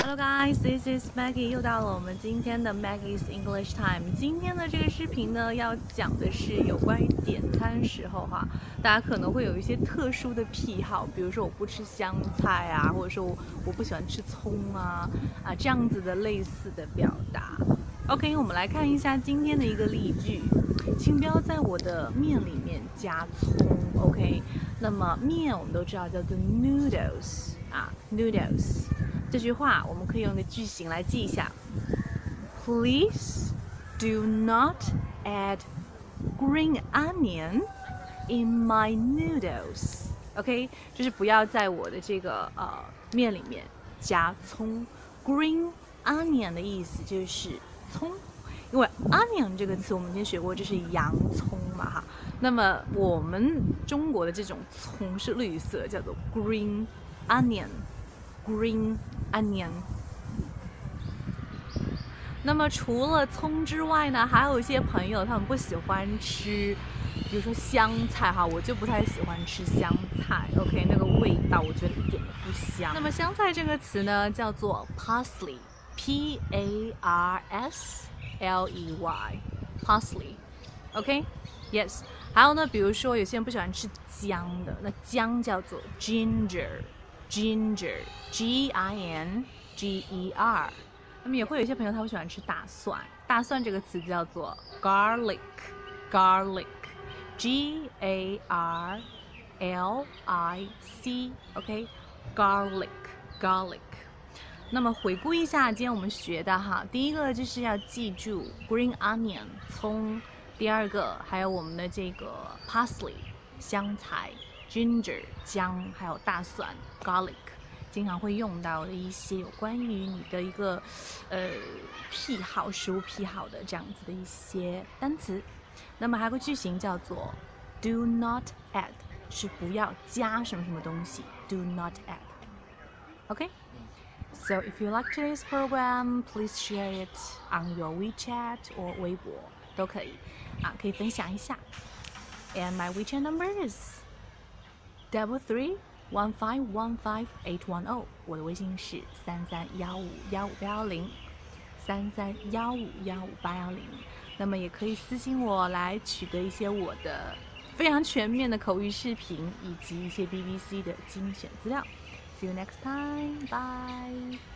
Hello guys, this is Maggie。又到了我们今天的 Maggie's English Time。今天的这个视频呢，要讲的是有关于点餐时候哈，大家可能会有一些特殊的癖好，比如说我不吃香菜啊，或者说我不喜欢吃葱啊这样子的类似的表达。OK， 我们来看一下今天的一个例句，请不要在我的面里面加葱。OK， 那么面我们都知道叫做 noodles ，noodles。这句话我们可以用一个句型来记一下 ：Please do not add green onion in my noodles. OK， 就是不要在我的这个面里面加葱。Green onion 的意思就是葱，因为 onion 这个词我们以前学过，这是洋葱嘛哈。那么我们中国的这种葱是绿色，叫做 green onion。Green onion。那么除了葱之外呢，还有一些朋友他们不喜欢吃，比如说香菜哈，我就不太喜欢吃香菜。OK， 那个味道我觉得一点都不香。那么香菜这个词呢，叫做 parsley，P A R S L E Y，parsley。OK，yes。还有呢，比如说有些人不喜欢吃姜的，那姜叫做 ginger。Ginger，G-I-N-G-E-R。那么也会有一些朋友他会喜欢吃大蒜，大蒜这个词叫做 garlic，garlic，G-A-R-L-I-C，OK，garlic。那么回顾一下今天我们学的哈，第一个就是要记住 green onion 葱，第二个还有我们的这个 parsley 香菜。Ginger 姜，还有大蒜 garlic， 经常会用到的一些有关于你的一个癖好、食物癖好的这样子的一些单词。那么还有个句型叫做 do not add， 是不要加什么什么东西 ，do not add。OK， so if you like today's program, please share it on your WeChat or 微博都可以可以分享一下。And my WeChat number is331515810，我的微信是3315158110，3315158110。那么也可以私信我来取得一些我的非常全面的口语视频，以及一些 BBC 的精选资料。See you next time, bye.